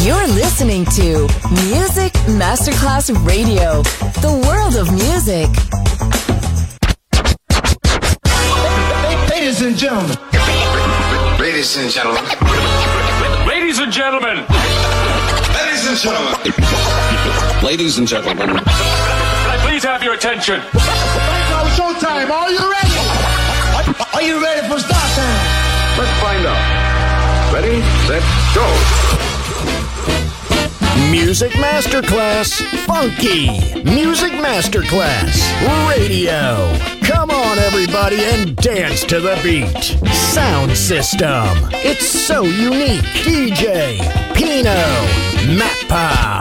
You're listening to Music Masterclass Radio, the world of music. Ladies and gentlemen. Ladies and gentlemen. Ladies and gentlemen. Ladies and gentlemen. Ladies and gentlemen. Can I please have your attention? Now it's showtime. Are you ready? Are you ready for start time? Let's find out. Ready, set, go. Music Masterclass Funky. Music Masterclass Radio. Come on, everybody, and dance to the beat. Sound system. It's so unique. DJ Pino Mappa.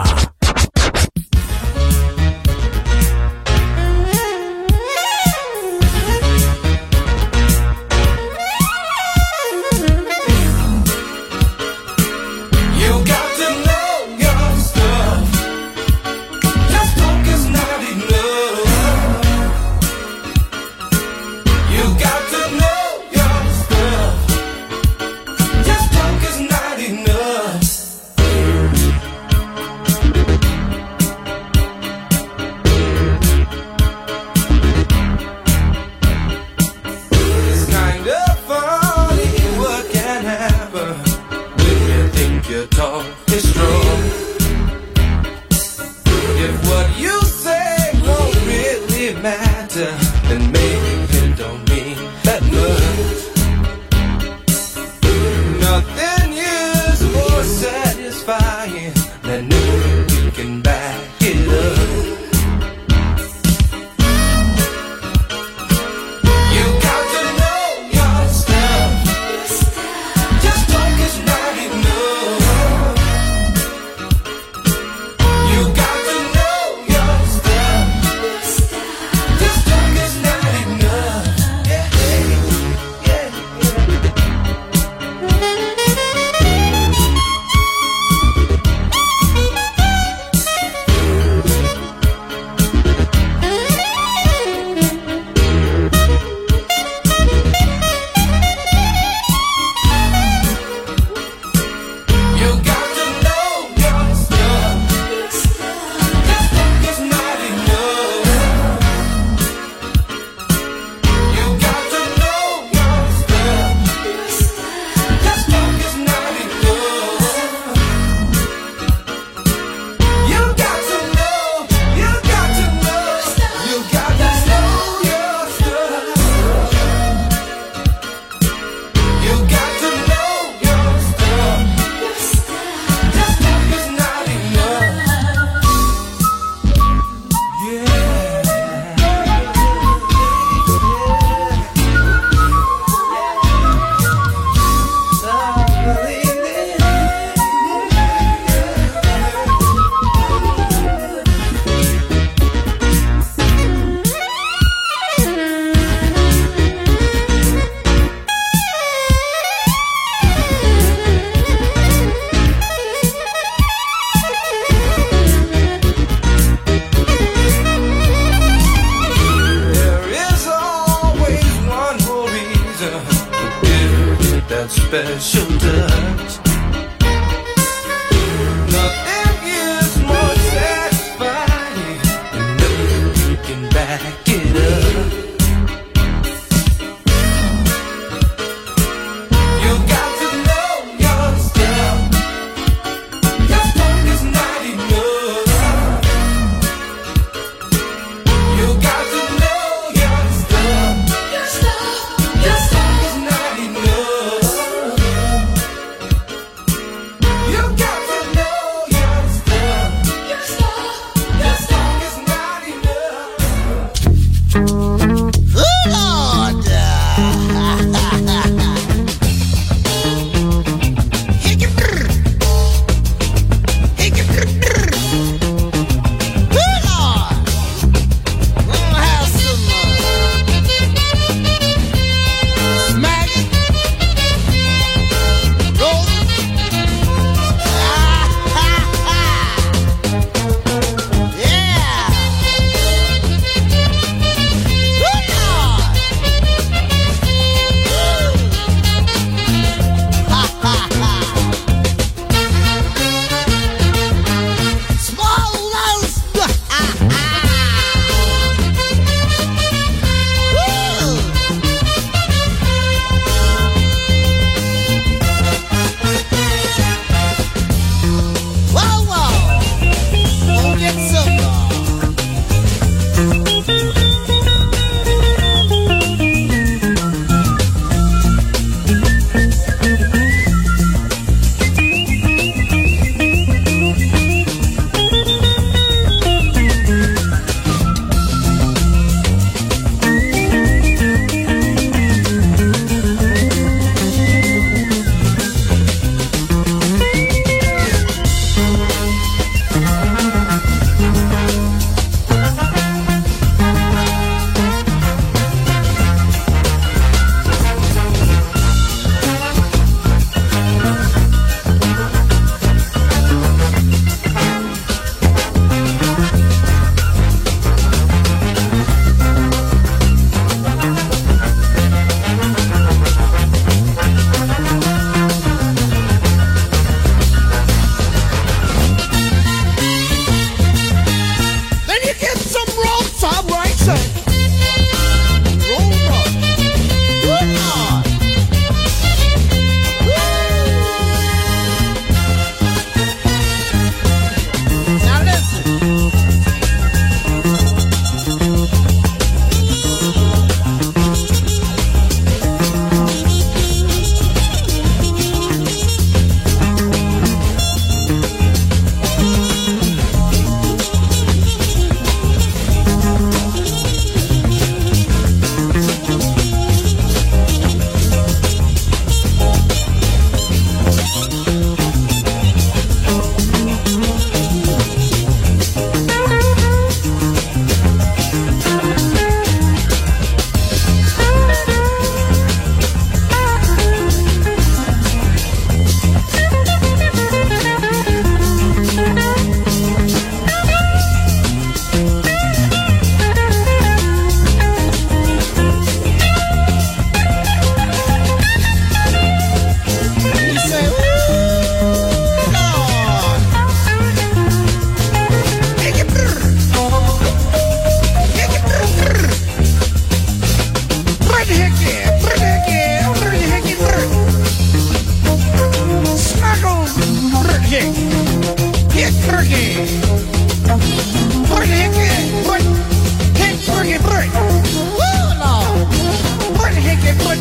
hickey. Hit turkey. Put hickey. Put hit turkey. Put. Woo, Lord. Put hickey. Put.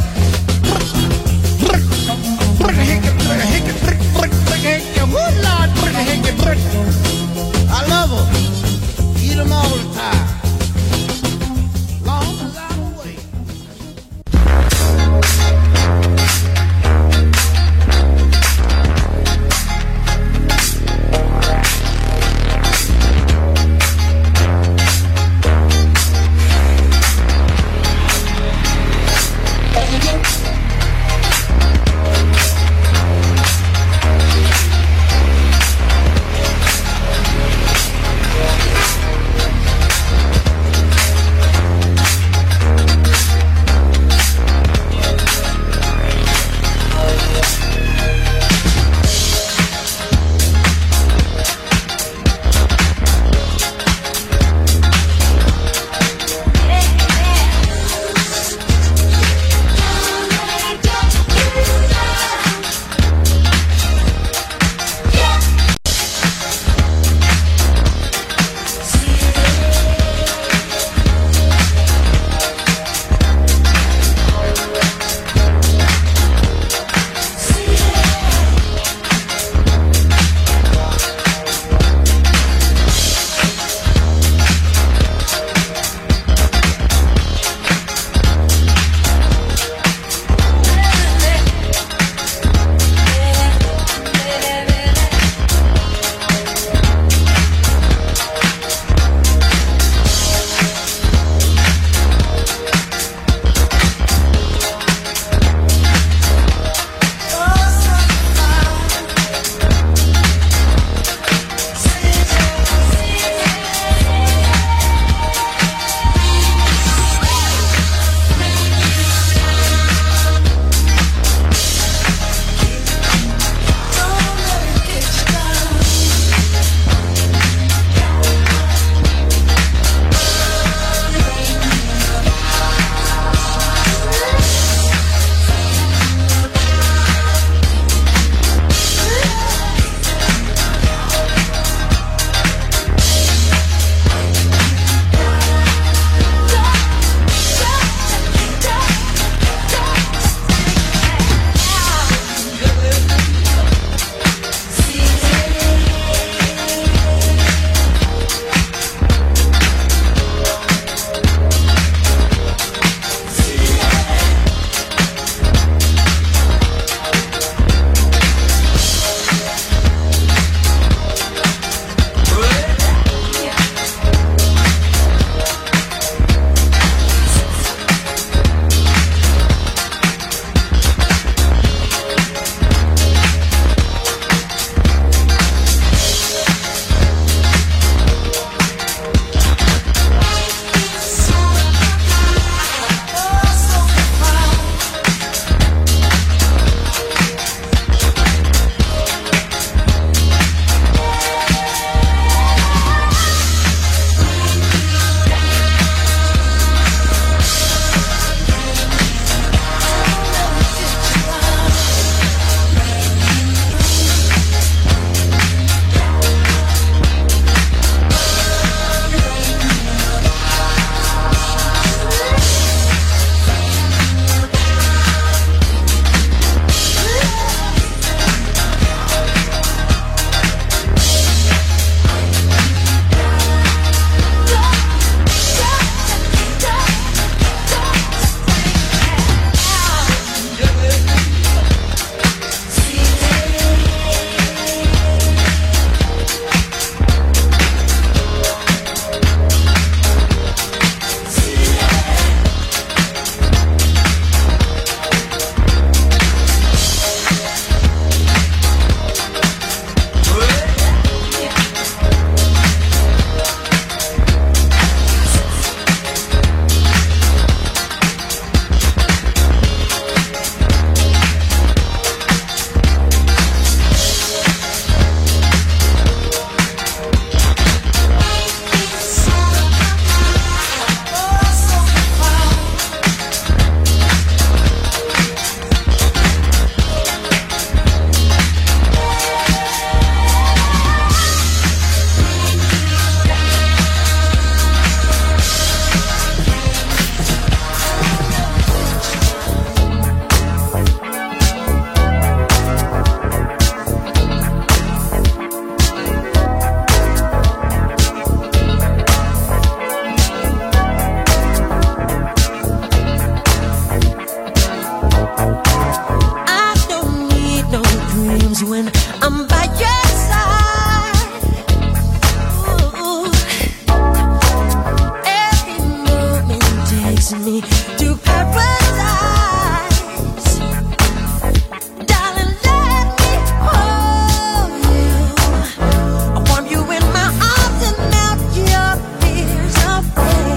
Put hickey. Put hickey. Put hickey. Woo, Lord. Put hickey. Put. I love them. Eat them all the time. Long as I'm away. times when I'm by your side. Ooh. Every moment takes me to paradise. Darling, let me hold you. I warm you in my arms and melt your fears away.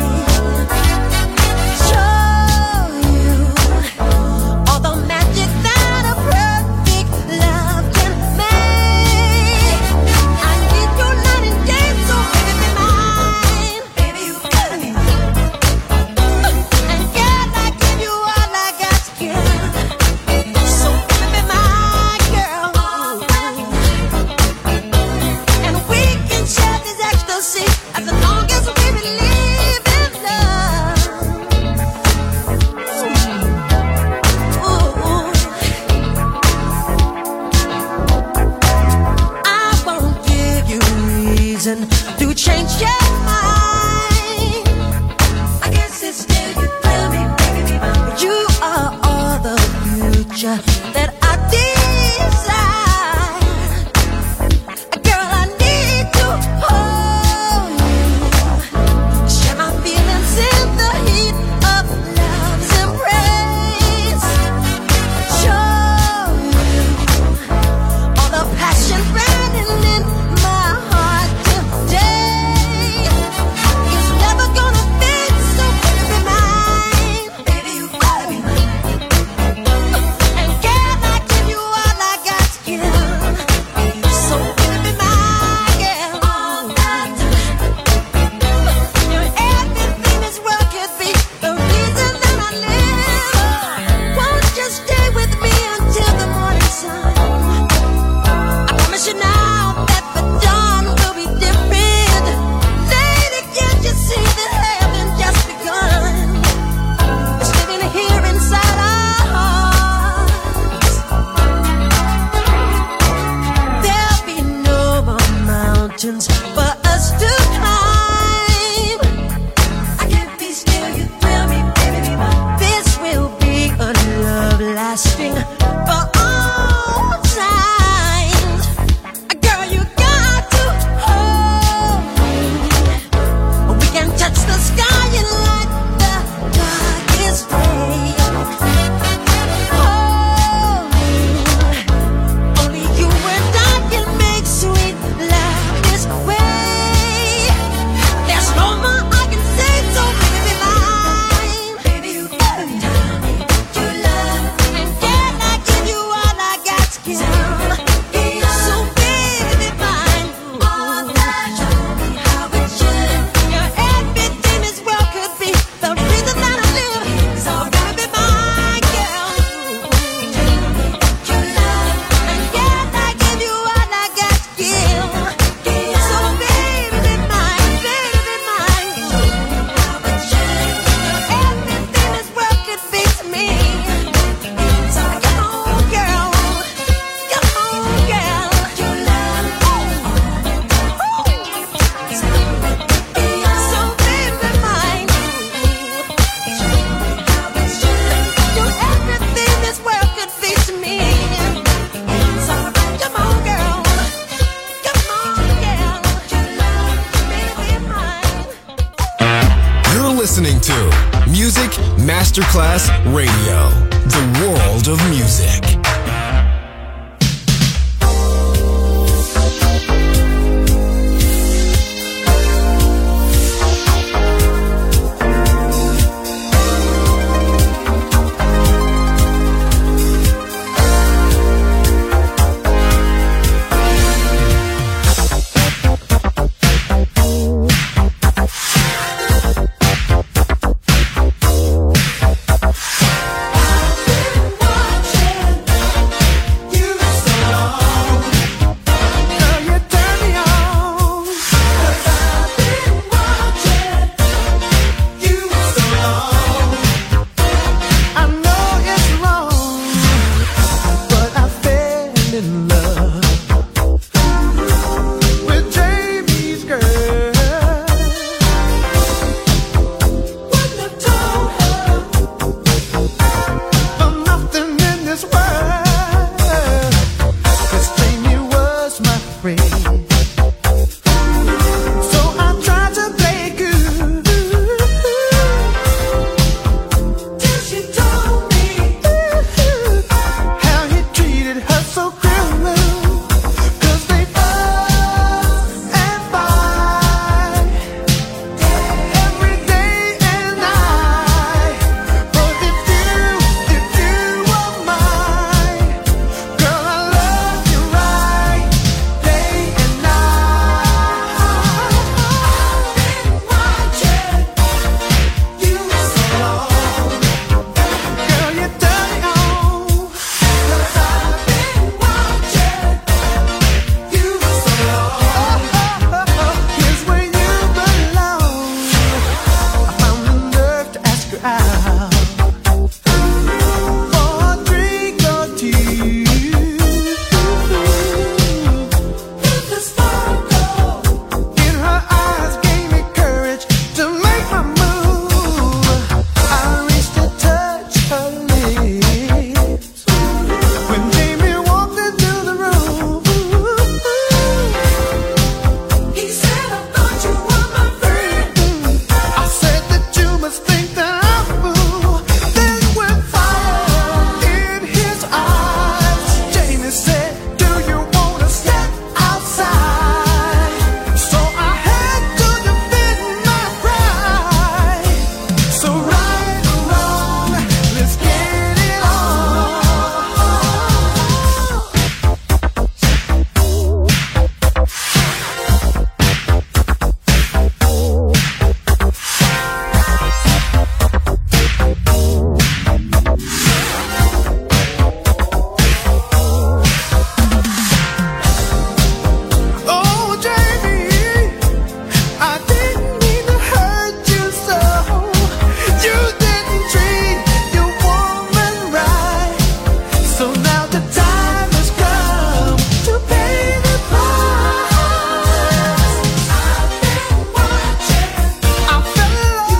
Show you all the magic that a perfect love can make. I need you night and day, so baby be mine. Baby, you gotta be mine. And yeah, I give you all I got to give. So baby be my girl. And we can share this ecstasy as long as we believe in love. Ooh. I won't give you reason to change your mind. I guess it's still you thrill me, baby. You are all the future that I desire. Girl, I need to hold you. Share my feelings in the heat of love's embrace. Show you all the passion burning in my heart today. It's never gonna fade, so baby be mine. Baby, you gotta be mine. And can I give you all I got to give? So baby be my girl. You're everything this world could be, the reason that I live. Won't you stay with me until the morning sun? I promise you now that the dawn will be different. Lady, can't you see that heaven just begun? It's living here inside our hearts. There'll be no more mountains for us to climb. I can't be still, you thrill me, baby, be mine. This will be a love lasting for all times. Girl, you got to hold me. We can touch the sky and light the darkest day. Hold me. Only you and I can make sweet love this way. There's no more I can say, so baby be mine. Baby, you gotta tell me that you love. And can I give you all I got to give? So baby be mine. All that, show me how it should. You're everything this world could be, the reason that I live. So baby be my girl. Tell me that you love. And can I give you all I got to give? So baby be mine, baby be mine. Show me how it should. You're everything this world could be to me. So come on, girl. Come on, girl. You love. So baby be mine. Show me how it should. You're everything this world could be to me. So come on, girl. Come on, girl. You love. Baby be mine. You're listening to Music Masterclass Radio, the world of music. Watching free. So I tried to play good till she told me how he treated her so cruel. 'Cause they fuss and fight every day and night. But if you were mine, girl, I love you right, day and night. I've been watching you so long, girl, you turn me on. 'Cause I've been watching you so long. Here's where you belong. I found the nerve to ask her out for a drink or two. The sparkle in her eyes gave me courage to make my move. I reached to touch her lips when Jamie walked into the room. He said, I thought you were my friend. I said that you must think that I'm a fool. Then with fire in his eyes, Jamie said, do you wanna step outside? So I had to defend my pride. So right or wrong, let's get it on. Oh, Jamie, I didn't mean to hurt you so. You didn't treat your woman right. So now the time has come to pay the price. I've been watching. I fell in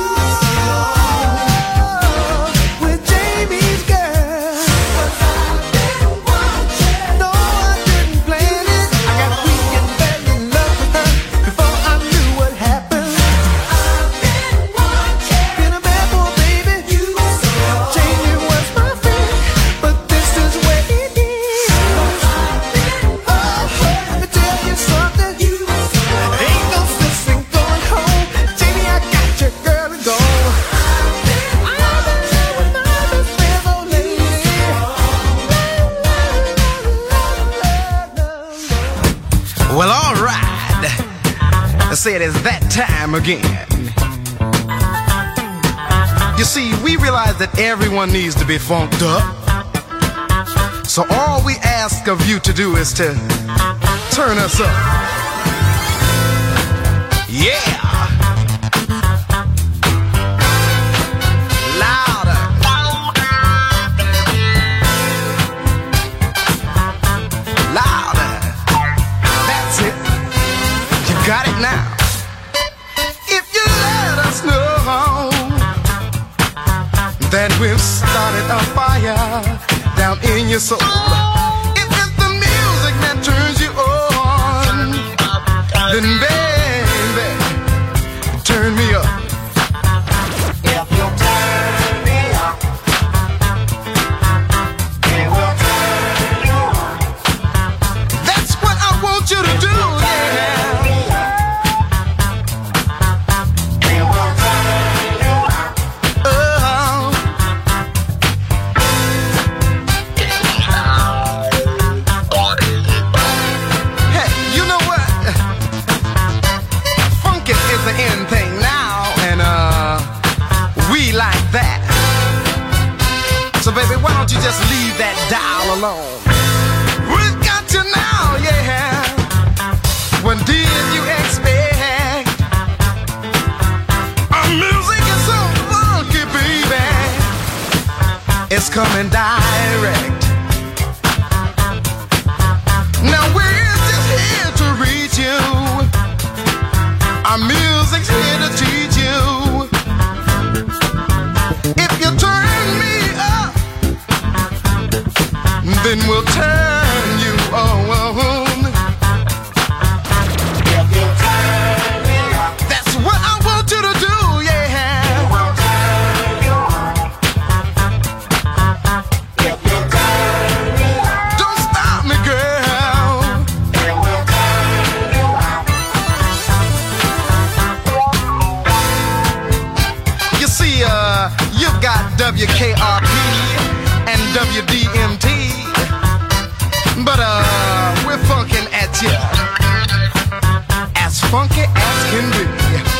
love with Jamie's girl. 'Cause I've been watching. No, I didn't plan it. I got weak and fell in love with her before I knew what happened. I've been watching. Been a bad boy, baby. Jamie was my friend, but this is what he did. Oh, let me tell you something. Ain't no sense in going home. Jamie, I got your girl and go. I've been there with my best friend, oh lady. Well, all right. Let's say it is that time again. You see, we realize that everyone needs to be funked up. So all we ask of you to do is to turn us up. Yeah. Louder. Louder. That's it. You got it now. If you let us know that we've started a fire down in your soul. If it's the music that turns you on, then baby, turn me up. If you turn me up, it will turn you on. That's what I want you to do, yeah. It will turn you on. Oh. Hey, you know what? Funkin' is the end thing now, and we like that. So baby, why don't you just leave that dial alone? We've got you now, yeah. When did you expect? Our music is so funky, baby. It's coming direct. Now we're just here to reach you. Our music's here to teach you. If you turn me up, then we'll turn you on. WKRP and WDMT. But we're funkin' at you, as funky as can be.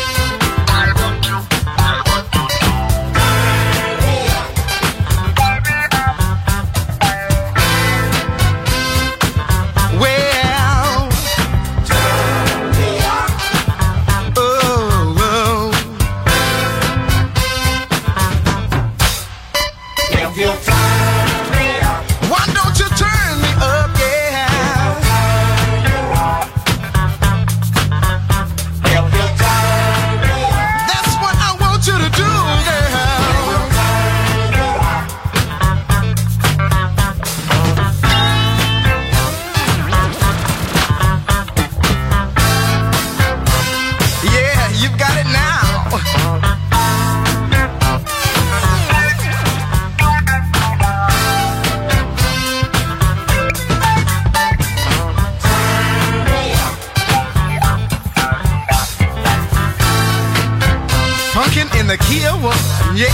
In the key of one, yeah.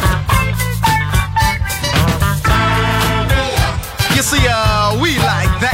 See, we like that.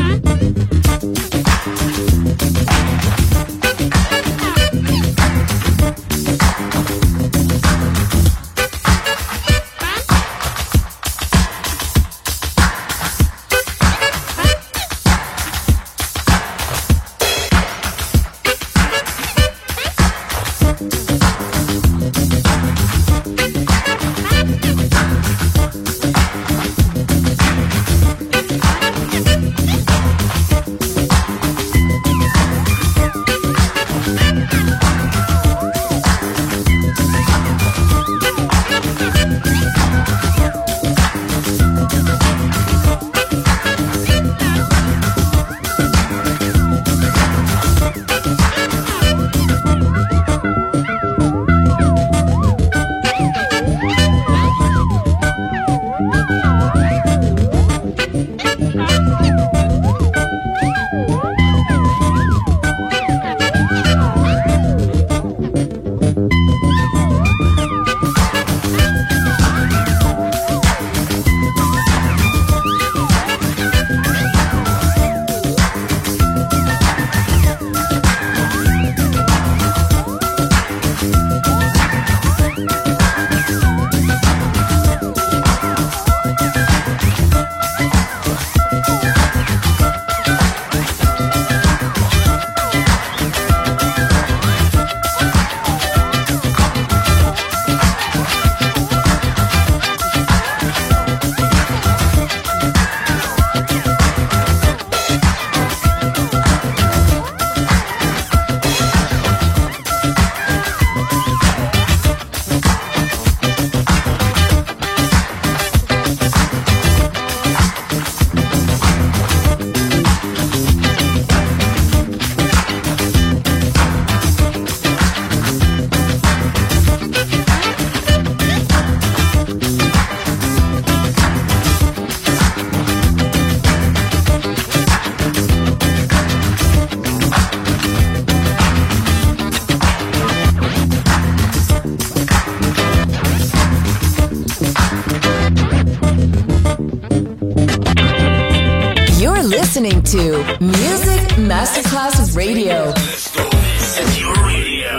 listening to Music Masterclass Radio. This is your radio.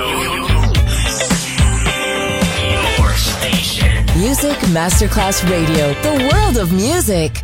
Your station. Music Masterclass Radio. The world of music.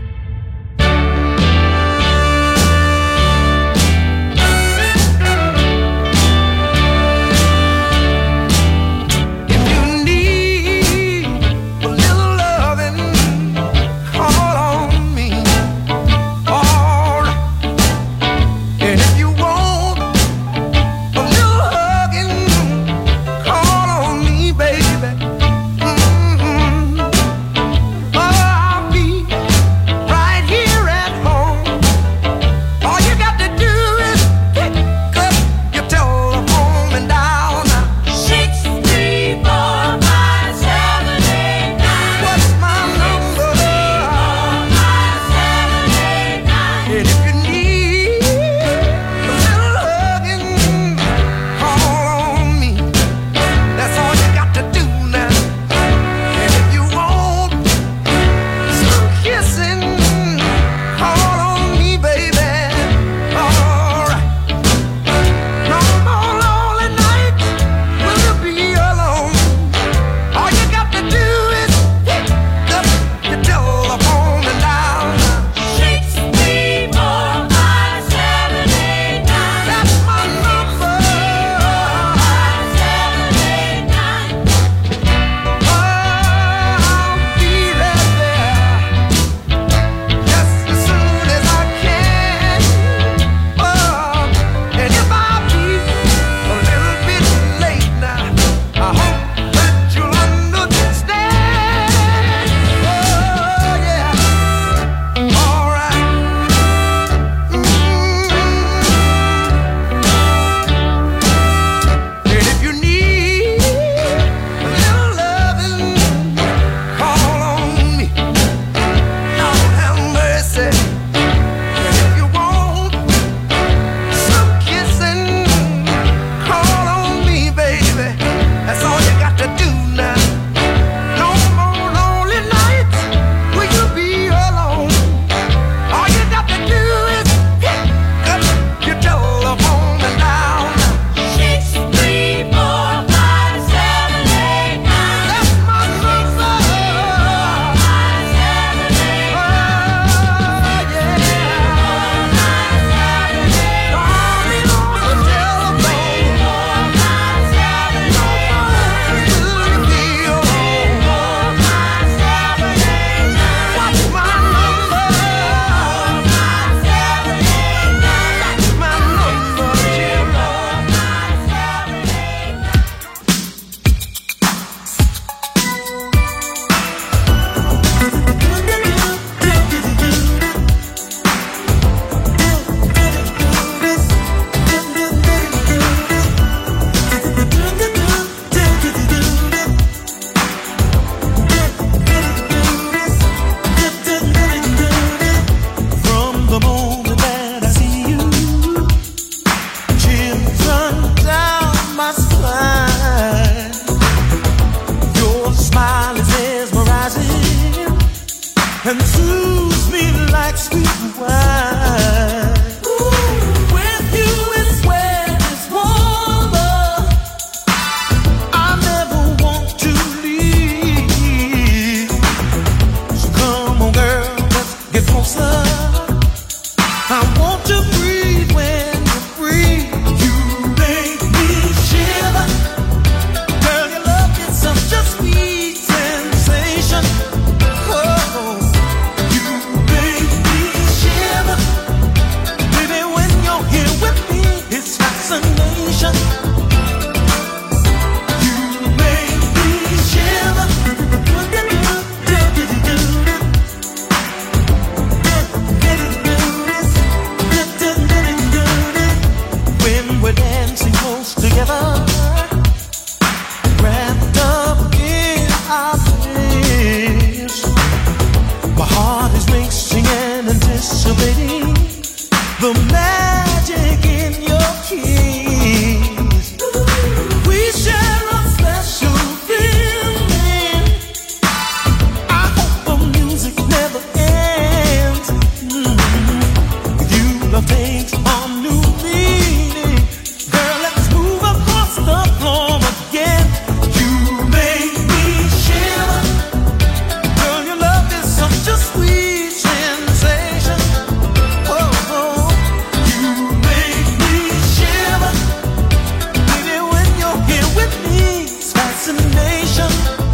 magic in your kiss. We share a special feeling. I hope the music never ends. You love takes on new meaning. Girl, let's move across the floor again. You make me shiver. Girl, your love is such a sweet sensation. Oh, you make me shiver. Baby, when you're here with me, it's fascination.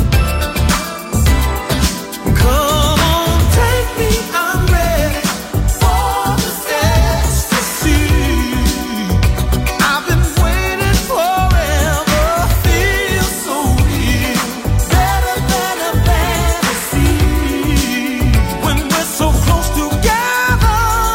Come on, take me, I'm ready for this ecstasy. I've been waiting forever, feel so real, better than a fantasy. When we're so close together,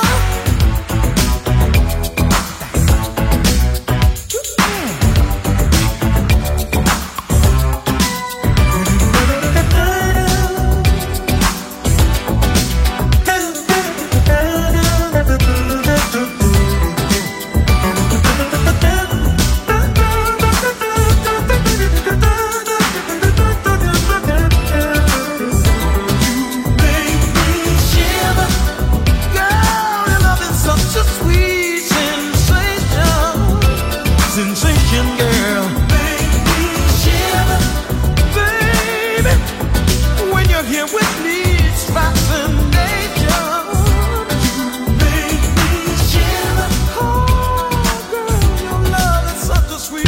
make me shiver. Girl, your love is such a sweet sensation. Sensation, girl. Make me shiver. Baby, when you're here with me, it's fascination. You make me shiver. Oh, girl, your love is such a sweet.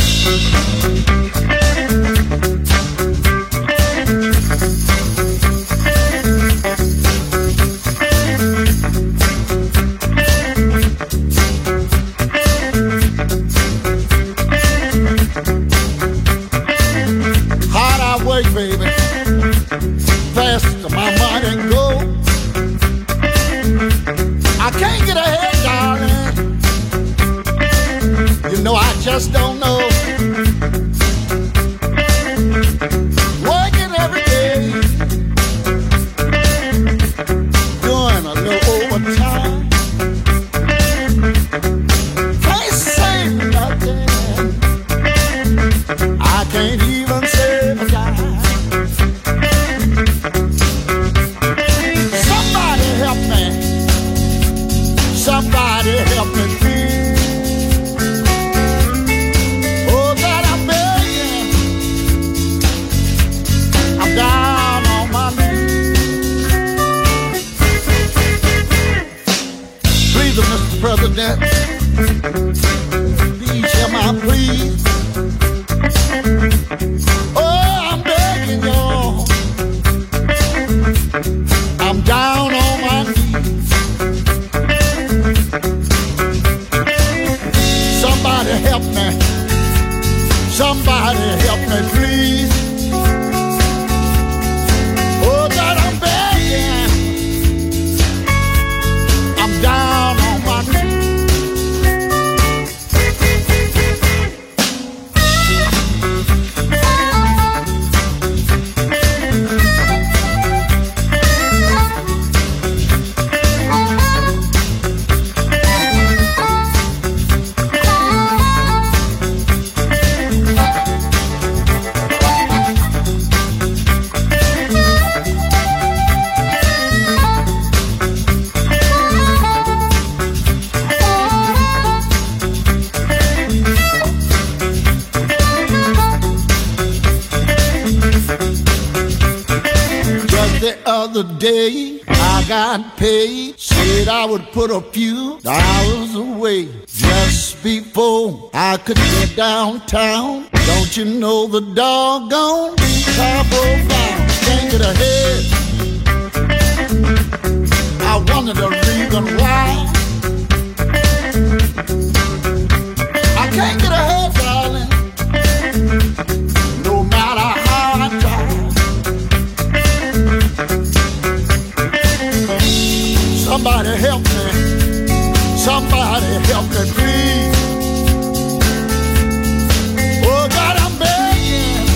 Hard I work, baby. Fast my mind and go. I can't get ahead, darling. You know I just don't know. Working every day, doing a little overtime. Can't say nothing. I can't even save a dime. Somebody help me. Somebody help me, please. Oh, God, I'm begging. I'm down on my knees. Please, Mr. President, please hear my plea. Oh, I'm begging you. I'm down on my knees. Somebody help me. Somebody help me, please. Oh, God, I'm begging. I'm down on my knees. The other day I got paid, said I would put a few dollars away just before I could get downtown. Don't you know the doggone car broke down? Can't get ahead. I wonder the reason why. I can't get ahead, darling, no matter how I try. Somebody help me. Somebody help me, please. Oh, God, I'm begging.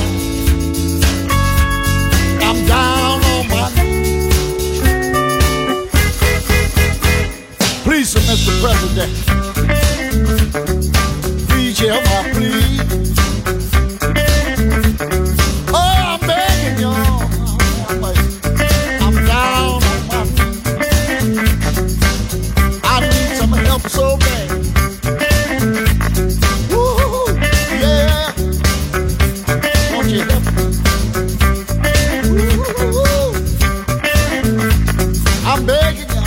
I'm down on my knees. Please, Mr. President, please hear my plea. Oh, I'm begging y'all. I'm down on my knees. I need some help so bad. Woo, yeah. Won't you help me? Woo, I'm begging y'all.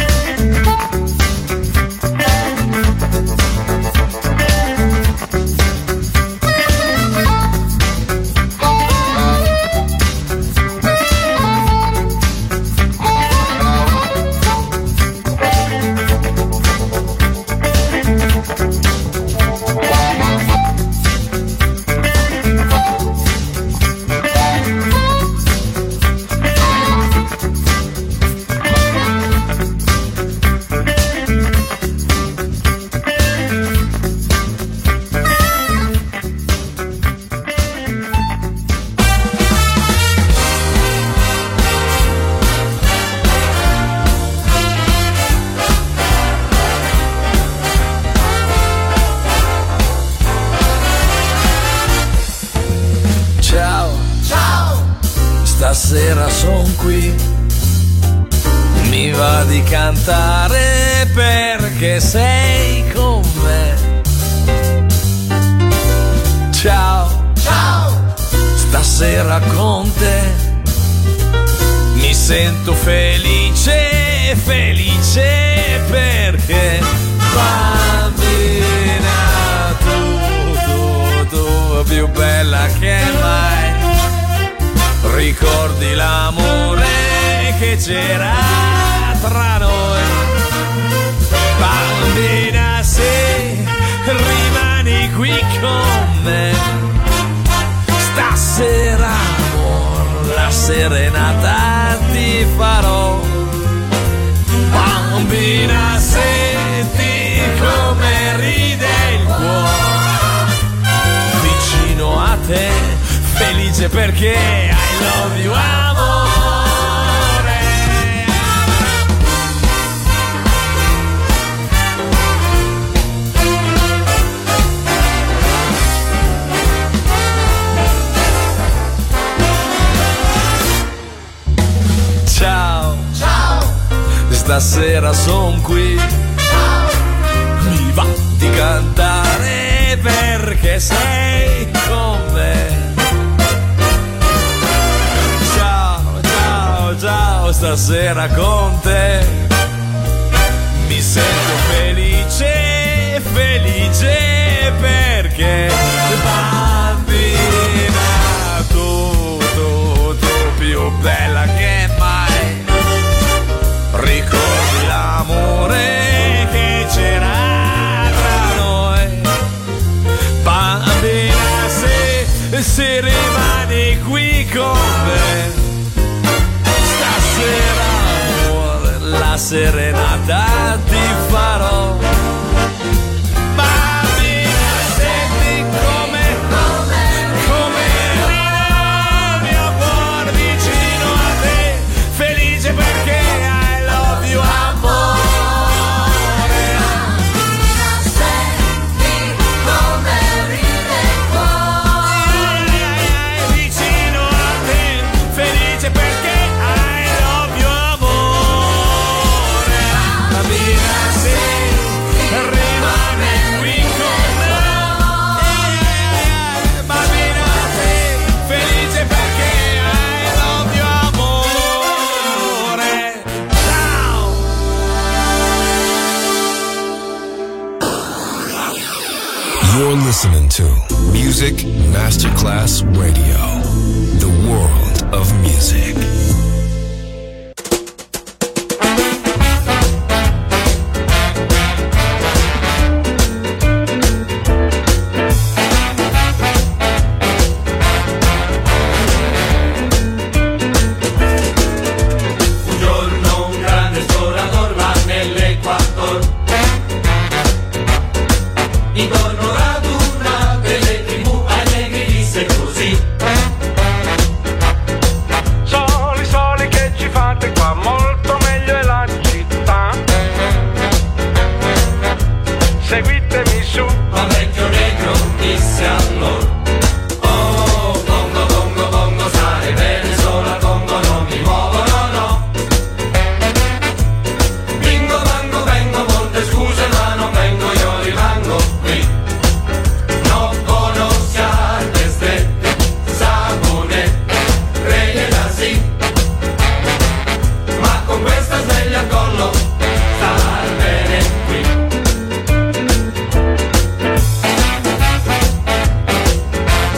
Stasera son qui, mi va di cantare perché sei con me. Ciao, ciao, stasera con te mi sento felice, felice perché bambina tu più bella che mai. Ricordi l'amore che c'era tra noi. Bambina, se rimani qui con me, stasera amor, la serenata ti farò. Bambina, senti come ride il cuore vicino a te, felice perché I love you, amore. Ciao, ciao, stasera son qui. Ciao. Mi va di cantare perché sei con me. Ciao, stasera con te mi sento felice, felice perché bambina tu più bella che mai. Ricordi l'amore che c'era tra noi. Bambina, se rimani qui con me, amore, la serenata ti farò. Bambina, senti come ride il mio cuore vicino a te, felice perché I love you, amore. Senti come ride il cuore vicino a te, felice perché rimane qui con me. Bambina, sei felice perché I love you, amore. Ciao. You're listening to Music Masterclass Radio, the world of music. Intorno ad una delle tribù allegri disse così: che ci fate qua, molto meglio è la città. buttami su. Ma vecchio negro disse allora: oh, bongo, bongo, bongo, stai bene sola, bongo, non mi muovo, no, no. Bingo, bango, vengo, molte scuse, ma non vengo, io rimango qui. Non conosciate strette, sapone, reghe da sì. Ma con questa sveglia al collo, star bene qui.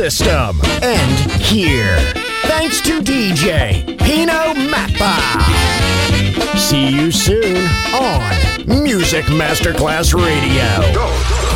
system and here. Thanks to DJ Pino Mappa. See you soon on Music Masterclass Radio. Go.